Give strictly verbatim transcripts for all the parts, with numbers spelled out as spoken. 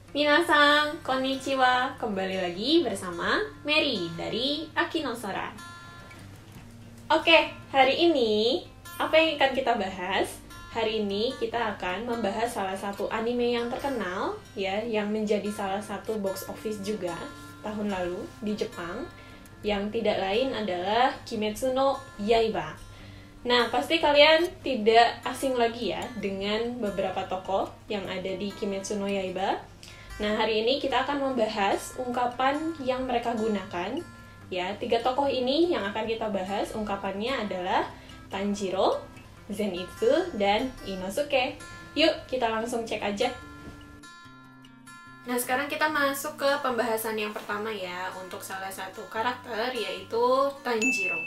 Minasan, konnichiwa. Kembali lagi bersama Mary dari Akino Sora. Oke, hari ini apa yang akan kita bahas? Hari ini kita akan membahas salah satu anime yang terkenal ya, yang menjadi salah satu box office juga tahun lalu di Jepang, yang tidak lain adalah Kimetsu no Yaiba. Nah, pasti kalian tidak asing lagi ya dengan beberapa tokoh yang ada di Kimetsu no Yaiba. Nah, hari ini kita akan membahas ungkapan yang mereka gunakan. Ya, tiga tokoh ini yang akan kita bahas, ungkapannya adalah Tanjiro, Zenitsu, dan Inosuke. Yuk, kita langsung cek aja. Nah, sekarang kita masuk ke pembahasan yang pertama ya, untuk salah satu karakter, yaitu Tanjiro.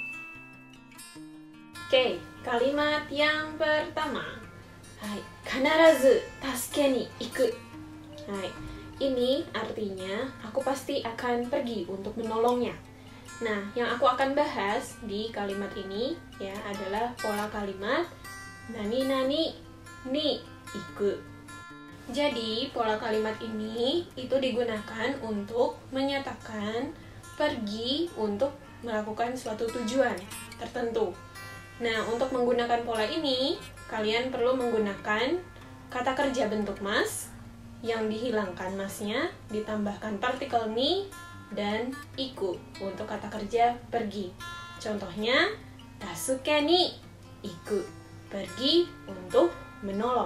Oke, kalimat yang pertama. Hai, kanarazu tasuke ni iku. Hai. Ini artinya aku pasti akan pergi untuk menolongnya. Nah, yang aku akan bahas di kalimat ini ya adalah pola kalimat nani nani ni iku. Jadi, pola kalimat ini itu digunakan untuk menyatakan pergi untuk melakukan suatu tujuan tertentu. Nah, untuk menggunakan pola ini, kalian perlu menggunakan kata kerja bentuk mas yang dihilangkan masnya, ditambahkan partikel ni dan iku untuk kata kerja pergi. Contohnya, tasuke ni iku, pergi untuk menolong.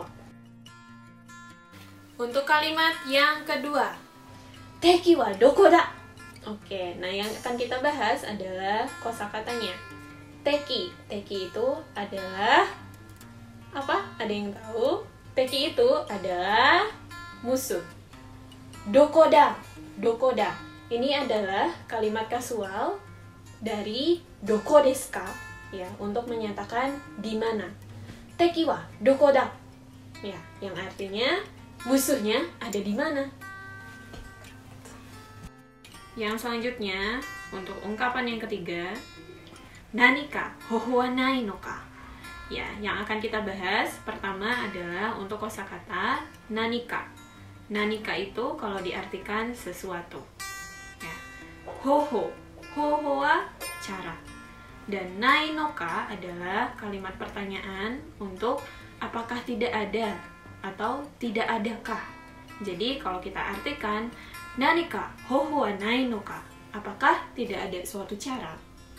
Untuk kalimat yang kedua, teki wa doko da? Oke, nah yang akan kita bahas adalah kosakatanya. Teki, teki itu adalah apa? Ada yang tahu? Teki itu adalah musuh. Dokoda, dokoda. Ini adalah kalimat kasual dari doko desu ka ya, untuk menyatakan di mana. Teki wa dokoda. Ya, yang artinya musuhnya ada di mana. Yang selanjutnya untuk ungkapan yang ketiga, nanika hoho wa nai no ka. Ya, yang akan kita bahas pertama adalah untuk kosakata nanika. Nanika itu kalau diartikan sesuatu. Ya. Hoho, hoho wa cara. Dan nai no ka adalah kalimat pertanyaan untuk apakah tidak ada atau tidak adakah. Jadi kalau kita artikan nanika hoho wa nai no ka, apakah tidak ada suatu cara.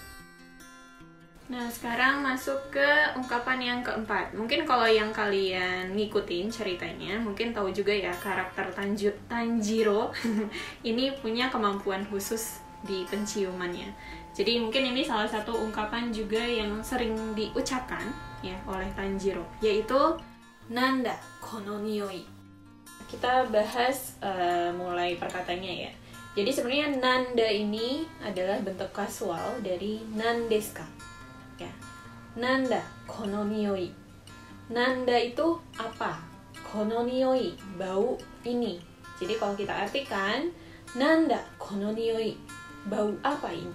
Nah, sekarang masuk ke ungkapan yang keempat. Mungkin kalau yang kalian ngikutin ceritanya, mungkin tahu juga ya karakter Tanju, Tanjiro ini punya kemampuan khusus di penciumannya. Jadi mungkin ini salah satu ungkapan juga yang sering diucapkan ya oleh Tanjiro, yaitu nanda kono nioi. Kita bahas uh, mulai perkataannya ya. Jadi sebenarnya nanda ini adalah bentuk kasual dari nandesu ka. Ya. Nanda kono nioi. Nanda itu apa? Kono nioi, bau ini. Jadi kalau kita artikan nanda kono nioi, bau apa ini?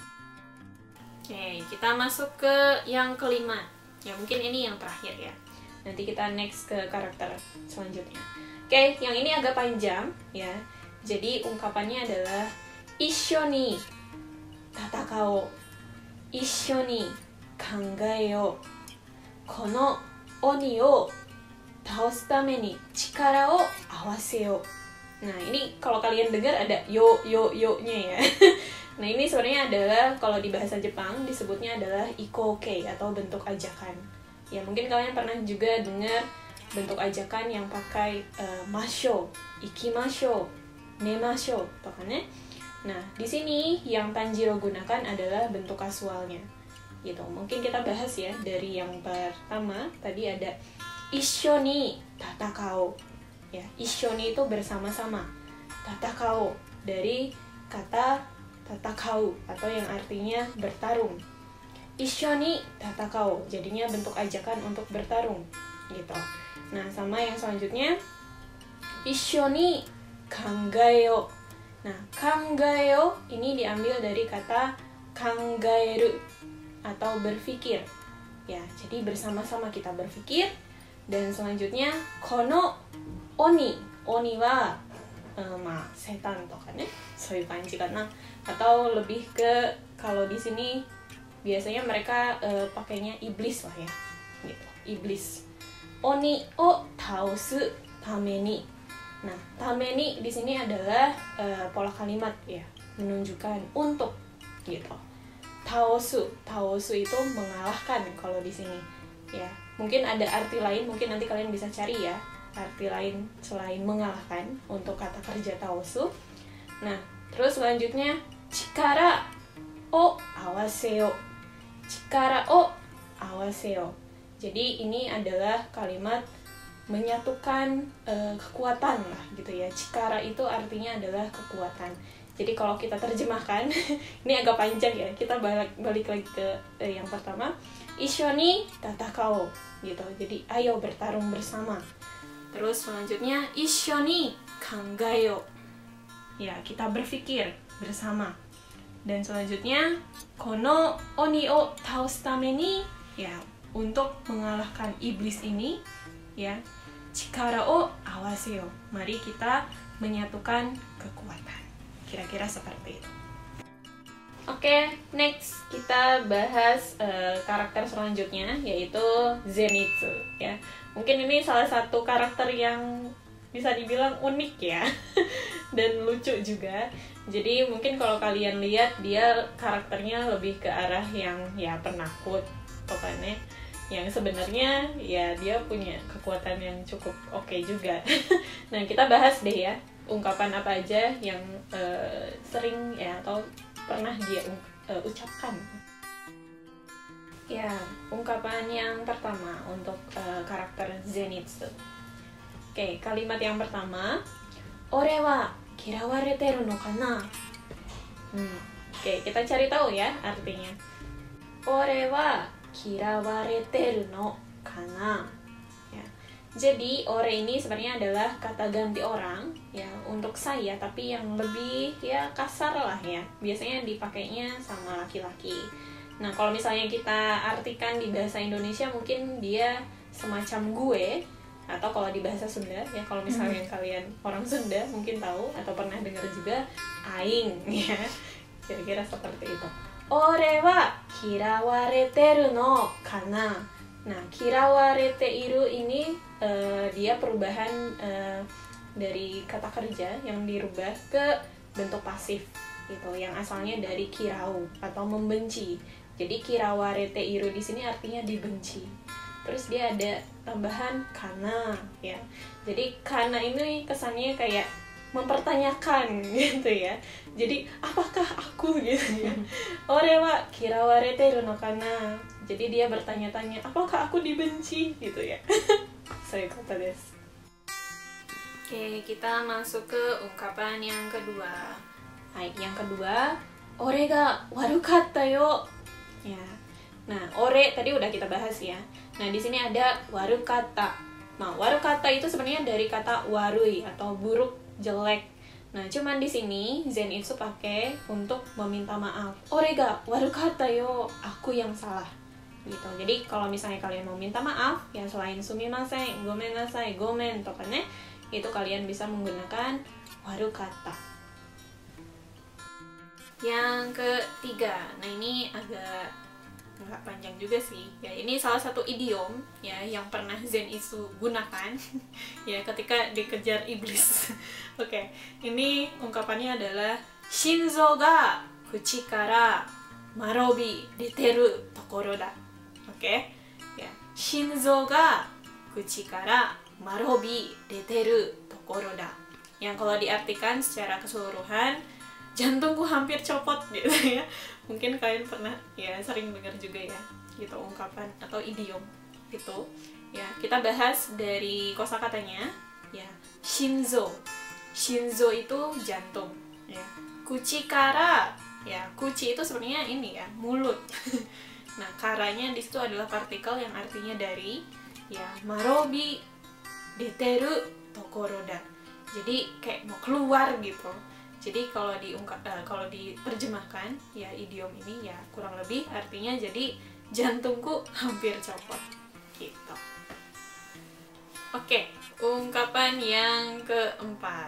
Oke, kita masuk ke yang kelima. Ya, mungkin ini yang terakhir ya. Nanti kita next ke karakter selanjutnya. Oke, yang ini agak panjang ya. Jadi ungkapannya adalah issho ni tatakao. Issho ni kangaeo. Kono oni o taosu tame ni chikara o awaseo. Nah, ini kalau kalian dengar ada yo yo yo-nya ya. Nah, ini sebenarnya adalah kalau di bahasa Jepang disebutnya adalah ikoke atau bentuk ajakan. Ya, mungkin kalian pernah juga dengar bentuk ajakan yang pakai uh, masho, ikimasho, nemasho, toh kan ya? Nah, di sini yang Tanjiro gunakan adalah bentuk kasualnya. Gitu. Mungkin kita bahas ya dari yang pertama tadi ada issho ni tatakao. Ya, issho ni itu bersama-sama. Tatakao dari kata tatakau atau yang artinya bertarung. Issho ni tatakao jadinya bentuk ajakan untuk bertarung gitu. Nah, sama yang selanjutnya issho ni kangaeo. Nah, kangaeo ini diambil dari kata kangaeru atau berpikir. Ya, jadi bersama-sama kita berpikir. Dan selanjutnya kono oni. Oni wa eh, ma setan to kan ya, soyu kanji kana. Atau lebih ke kalau di sini biasanya mereka eh, pakainya iblis lah ya, gitu, iblis. Oni o taosu tameni. Nah, tameni di sini adalah uh, pola kalimat ya, menunjukkan untuk gitu. Taosu, taosu itu mengalahkan kalau di sini. Ya, mungkin ada arti lain, mungkin nanti kalian bisa cari ya, arti lain selain mengalahkan untuk kata kerja taosu. Nah, terus selanjutnya chikara o awaseo. Chikara o awaseo. Jadi ini adalah kalimat menyatukan uh, kekuatan lah gitu ya. Chikara itu artinya adalah kekuatan. Jadi kalau kita terjemahkan ini agak panjang ya. Kita balik balik lagi ke uh, yang pertama, Ishoni tatakao gitu. Jadi ayo bertarung bersama. Terus selanjutnya Ishoni kangayo. Ya, kita berpikir bersama. Dan selanjutnya kono oni o taosu tameni, ya, untuk mengalahkan iblis ini, ya, chikara o awaseo. Mari kita menyatukan kekuatan. Kira-kira seperti itu. Oke, okay, next kita bahas uh, karakter selanjutnya, yaitu Zenitsu. Ya, mungkin ini salah satu karakter yang bisa dibilang unik ya, dan lucu juga. Jadi mungkin kalau kalian lihat dia karakternya lebih ke arah yang ya penakut, pokoknya. Yang sebenarnya ya dia punya kekuatan yang cukup oke okay juga. Nah, kita bahas deh ya, ungkapan apa aja yang uh, sering ya atau pernah dia uh, ucapkan. Ya, ungkapan yang pertama untuk uh, karakter Zenitsu. Oke, okay, kalimat yang pertama, ore wa kirawareteru no kana? Hmm, oke, okay, kita cari tahu ya artinya. Ore wa kirawareteru no kana, ya. Jadi ore ini sebenarnya adalah kata ganti orang ya untuk saya, tapi yang lebih ya kasar lah ya, biasanya dipakainya sama laki-laki. Nah, kalau misalnya kita artikan di bahasa Indonesia mungkin dia semacam gue, atau kalau di bahasa Sunda ya, kalau misalnya hmm. kalian orang Sunda mungkin tahu atau pernah dengar juga aing ya, kira-kira seperti itu. Ore wa kirawareteru no kana. Nah, kirawarete iru ini uh, dia perubahan uh, dari kata kerja yang dirubah ke bentuk pasif gitu, yang asalnya dari kirau atau membenci. Jadi kirawarete iru di sini artinya dibenci. Terus dia ada tambahan kana ya. Jadi kana ini kesannya kayak mempertanyakan gitu ya. Jadi apakah aku gitu ya. Ore wa kirawareteru no kana. Jadi dia bertanya-tanya, apakah aku dibenci gitu ya. Saya kata desu. Oke, kita masuk ke ungkapan yang kedua. Baik, yang kedua, ore ga warukatta yo. Ya. Nah, ore tadi udah kita bahas ya. Nah, di sini ada warukatta. Nah, warukatta itu sebenarnya dari kata warui atau buruk, jelek. Nah, cuman di sini Zenitsu pakai untuk meminta maaf. Ore ga warukatta yo, aku yang salah. Gitu. Jadi kalau misalnya kalian mau minta maaf, ya selain sumimasen, gomennasai, gomen to kan ya, itu kalian bisa menggunakan warukatta. Yang ketiga, nah ini agak nggak panjang juga sih ya, ini salah satu idiom ya yang pernah Zenitsu gunakan ya ketika dikejar iblis. Oke, okay. Ini ungkapannya adalah shinzo ga kuchi kara marobi deteru tokoro da. Oke, okay? Ya, shinzo ga kuchi kara marobi deteru tokoro da. Yang kalau diartikan secara keseluruhan, jantungku hampir copot gitu ya. Mungkin kalian pernah ya sering dengar juga ya gitu ungkapan atau idiom itu ya. Kita bahas dari kosakatanya ya. Shinzo, shinzo itu jantung ya. Kuchi kara ya, kuchi itu sebenarnya ini ya, mulut. Nah, karanya di situ adalah partikel yang artinya dari ya, marobi deteru tokoroda. Jadi kayak mau keluar gitu. Jadi kalau diungkap, uh, kalau diterjemahkan ya idiom ini ya kurang lebih artinya jadi jantungku hampir copot gitu. Oke, ungkapan yang keempat.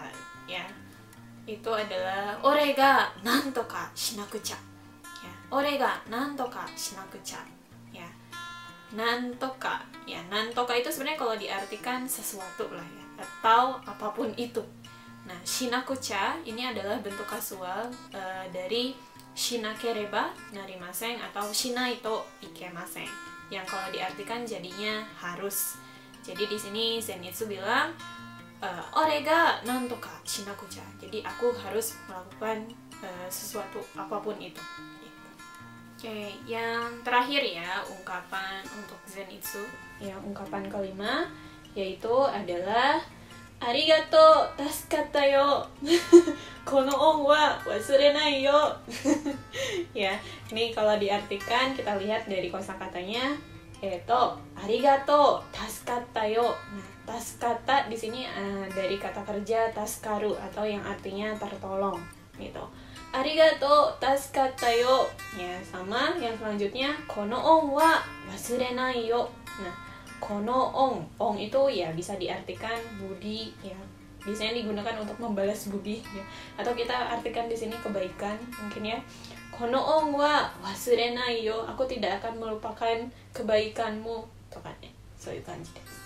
ya, itu adalah ore ga nantoka shinakucha. Ya, ore ga nantoka shinakucha. Ya, nantoka. Ya, nantoka itu sebenarnya kalau diartikan sesuatu lah ya, atau apapun itu. Nah, shinakucha ini adalah bentuk kasual uh, dari shinakereba narimasen atau shinaito ikemasen, yang kalau diartikan jadinya harus. Jadi di sini Zenitsu bilang uh, ore ga nantoka shinakucha. Jadi aku harus melakukan uh, sesuatu apapun itu. Gitu. Oke, yang terakhir ya ungkapan untuk Zenitsu. Ya, ungkapan kelima yaitu adalah arigato tasukatta yo. Kono on wa wasurenai yo. Ya, ini kalau diartikan kita lihat dari kosakatanya yaitu arigato tasukatta yo. Nah, tasukatta di sini uh, dari kata kerja tasukaru atau yang artinya tertolong gitu. Arigato tasukatta yo. Ya, sama yang selanjutnya kono on wa wasurenai yo. Nah, kono on, on itu ya bisa diartikan budi ya, biasanya digunakan untuk membalas budi ya, atau kita artikan di sini kebaikan mungkin ya. Kono on wa wasurenai yo, aku tidak akan melupakan kebaikanmu, tuh kan ya, soiyu kanji desu.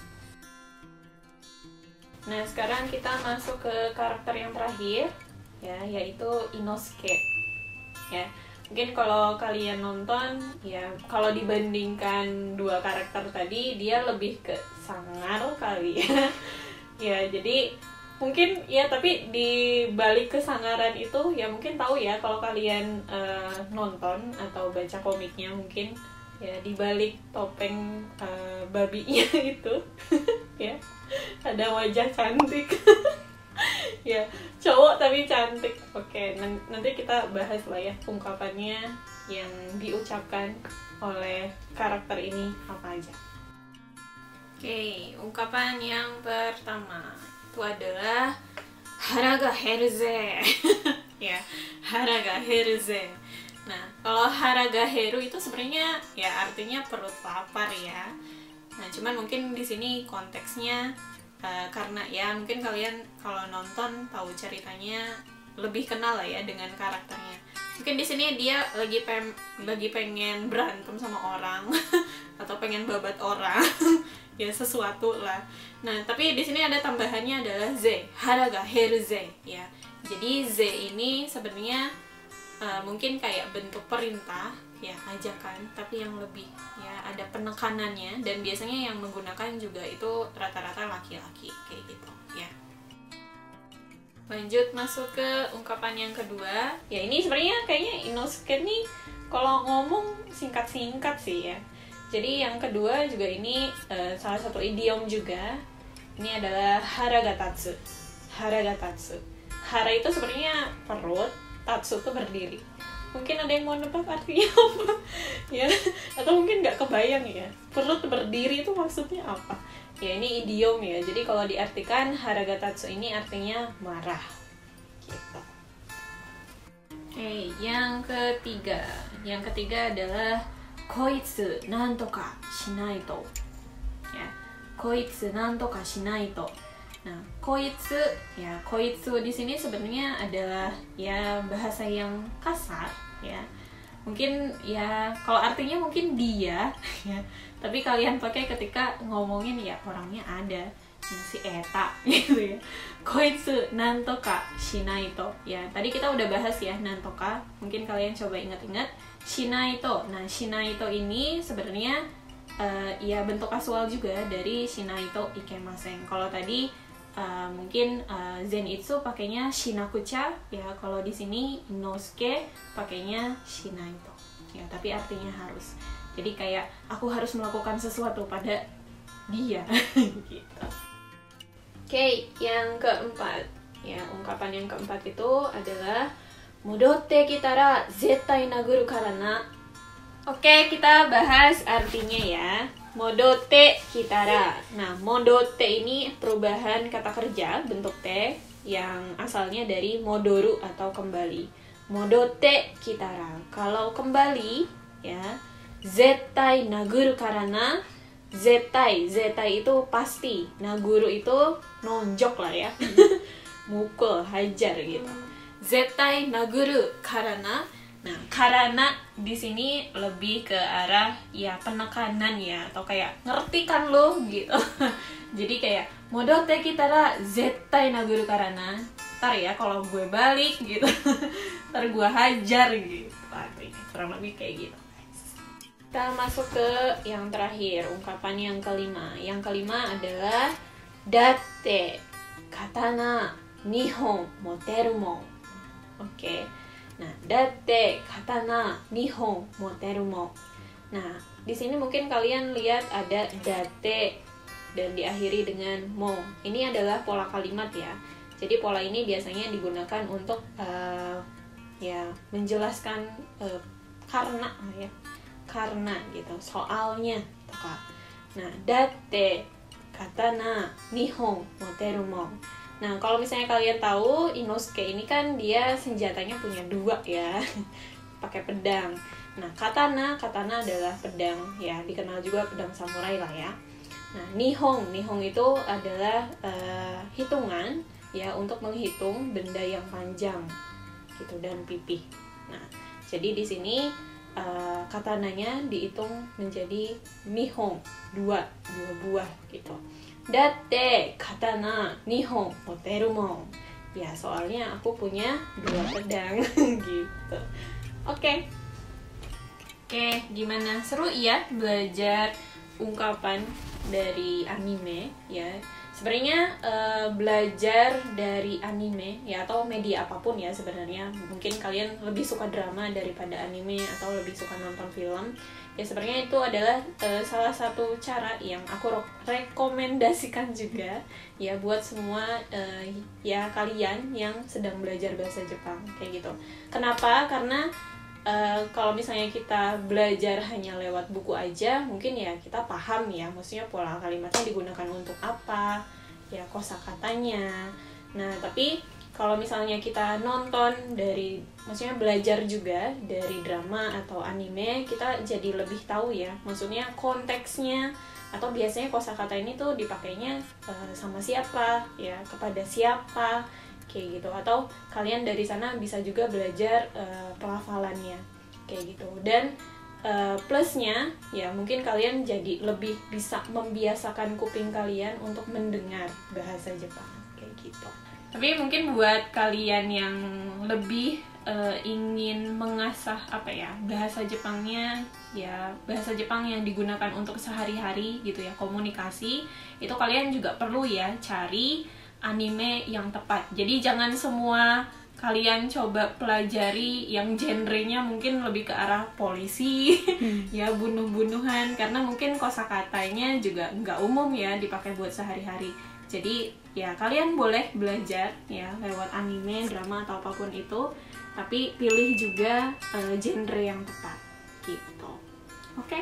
Nah, sekarang kita masuk ke karakter yang terakhir ya, yaitu Inosuke ya. Mungkin kalau kalian nonton ya, kalau dibandingkan dua karakter tadi dia lebih ke sangar kali ya. Ya, jadi mungkin ya, tapi di balik kesangaran itu ya mungkin tahu ya kalau kalian uh, nonton atau baca komiknya, mungkin ya di balik topeng uh, babinya itu ya ada wajah cantik. Ya, cowok tapi cantik. Oke, nanti kita bahas lah ya ungkapannya yang diucapkan oleh karakter ini apa aja. Oke, ungkapan yang pertama itu adalah hara ga heru ze. Ya, hara ga heru ze. Nah, kalau hara ga heru itu sebenarnya ya artinya perut lapar ya. Nah, cuman mungkin di sini konteksnya Uh, karena ya mungkin kalian kalau nonton tahu ceritanya, lebih kenal lah ya dengan karakternya. Mungkin di sini dia lagi pem lagi pengen berantem sama orang atau pengen babat orang ya, sesuatu lah. Nah, tapi di sini ada tambahannya adalah ze, hara ga heru ze ya. Jadi ze ini sebenarnya uh, mungkin kayak bentuk perintah ya, ajakan, tapi yang lebih ya ada penekanannya, dan biasanya yang menggunakan juga itu rata-rata laki-laki kayak gitu ya. Lanjut masuk ke ungkapan yang kedua ya, ini sebenarnya kayaknya Inosuke nih kalau ngomong singkat-singkat sih ya. Jadi yang kedua juga ini uh, salah satu idiom juga. Ini adalah hara ga tatsu. Hara ga tatsu. Hara itu sebenarnya perut, tatsu itu berdiri. Mungkin ada yang mau nebak artinya apa ya, atau mungkin nggak kebayang ya perut berdiri itu maksudnya apa ya. Ini idiom ya, jadi kalau diartikan hara ga tatsu ini artinya marah gitu. Oke, yang ketiga yang ketiga adalah koitsu nantoka shinaito ya, koitsu nantoka shinaito. Nah, koitsu ya, koitsu di sini sebenarnya adalah ya bahasa yang kasar ya. Mungkin ya kalau artinya mungkin dia ya, tapi kalian pakai ketika ngomongin ya orangnya ada yang si eta gitu ya. Koitsu nantoka shinaito ya. Tadi kita udah bahas ya nantoka, mungkin kalian coba ingat-ingat shinaito. Nah, shinaito ini sebenarnya uh, ya bentuk kasual juga dari shinaito ikemasen. Kalau tadi Uh, mungkin uh, Zenitsu pakainya shinakucha ya, kalau di sini Inosuke pakainya shinaito ya, tapi artinya harus. Jadi kayak aku harus melakukan sesuatu pada dia gitu. Oke, okay, yang keempat ya, ungkapan yang keempat itu adalah modotte kitara zettai naguru karana. Oke, okay, kita bahas artinya ya. Modotte kitara. Nah, modotte ini perubahan kata kerja bentuk te yang asalnya dari modoru atau kembali. Modotte kitara. Kalau kembali ya, zettai naguru karana. Zettai, zettai itu pasti. Naguru itu nonjok lah ya. mukul, hajar gitu. Zettai naguru karena, nah karena di sini lebih ke arah ya penekanan ya, atau kayak ngerti kan lo gitu. Jadi kayak modotte kitara zettai naguru karena, ntar ya kalau gue balik gitu, ntar gue hajar gitu. Artinya kurang lebih kayak gitu. Kita masuk ke yang terakhir, ungkapan yang kelima. Yang kelima adalah datte katana nihon moteru mo. Oke. Nah, datte katana nihon moteru mo. Nah, di sini mungkin kalian lihat ada datte dan diakhiri dengan mo. Ini adalah pola kalimat ya. Jadi pola ini biasanya digunakan untuk uh, ya menjelaskan uh, karena ya. Karena gitu, soalnya gitu, Kak. Nah, datte katana nihon moteru mo. Nah, kalau misalnya kalian tahu Inosuke ini kan dia senjatanya punya dua ya. Pakai pedang. Nah, katana, katana adalah pedang ya, dikenal juga pedang samurai lah ya. Nah, nihon, nihon itu adalah uh, hitungan ya untuk menghitung benda yang panjang gitu dan pipih. Nah, jadi di sini Uh, katananya dihitung menjadi nihon, dua, dua buah gitu. Datte katana nihon moteru mo. Ya, soalnya aku punya dua pedang gitu. Oke. Okay. Oke, okay, gimana? Seru ya belajar ungkapan dari anime ya. Sebenarnya uh, belajar dari anime ya, atau media apapun ya sebenarnya, mungkin kalian lebih suka drama daripada anime atau lebih suka nonton film ya, sebenarnya itu adalah uh, salah satu cara yang aku rekomendasikan juga ya buat semua uh, ya kalian yang sedang belajar bahasa Jepang kayak gitu. Kenapa? Karena Uh, kalau misalnya kita belajar hanya lewat buku aja, mungkin ya kita paham ya, maksudnya pola kalimatnya digunakan untuk apa, ya kosakatanya. Nah, tapi kalau misalnya kita nonton dari, maksudnya belajar juga dari drama atau anime, kita jadi lebih tahu ya, maksudnya konteksnya, atau biasanya kosakata ini tuh dipakainya uh, sama siapa, ya kepada siapa, kayak gitu. Atau kalian dari sana bisa juga belajar uh, pelafalannya kayak gitu. Dan uh, plusnya ya mungkin kalian jadi lebih bisa membiasakan kuping kalian untuk mendengar bahasa Jepang kayak gitu. Tapi mungkin buat kalian yang lebih uh, ingin mengasah apa ya bahasa Jepangnya, ya bahasa Jepang yang digunakan untuk sehari-hari gitu ya, komunikasi, itu kalian juga perlu ya cari anime yang tepat. Jadi jangan semua kalian coba pelajari yang genrenya mungkin lebih ke arah polisi, hmm. ya bunuh-bunuhan, karena mungkin kosakatanya juga nggak umum ya dipakai buat sehari-hari. Jadi ya kalian boleh belajar ya lewat anime, drama atau apapun itu, tapi pilih juga uh, genre yang tepat gitu. Oke? Okay?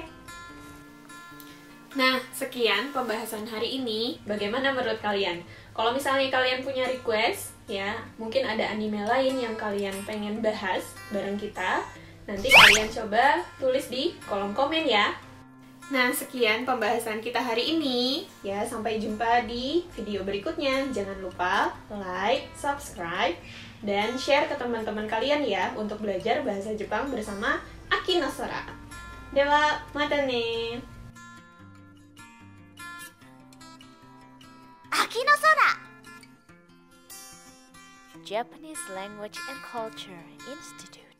Nah, sekian pembahasan hari ini. Bagaimana menurut kalian? Kalau misalnya kalian punya request, ya mungkin ada anime lain yang kalian pengen bahas bareng kita, nanti kalian coba tulis di kolom komen ya. Nah, sekian pembahasan kita hari ini. Ya, sampai jumpa di video berikutnya. Jangan lupa like, subscribe, dan share ke teman-teman kalian ya untuk belajar bahasa Jepang bersama Aki no Sora. Dewa, mata ne! Aki no Sora! Japanese Language and Culture Institute.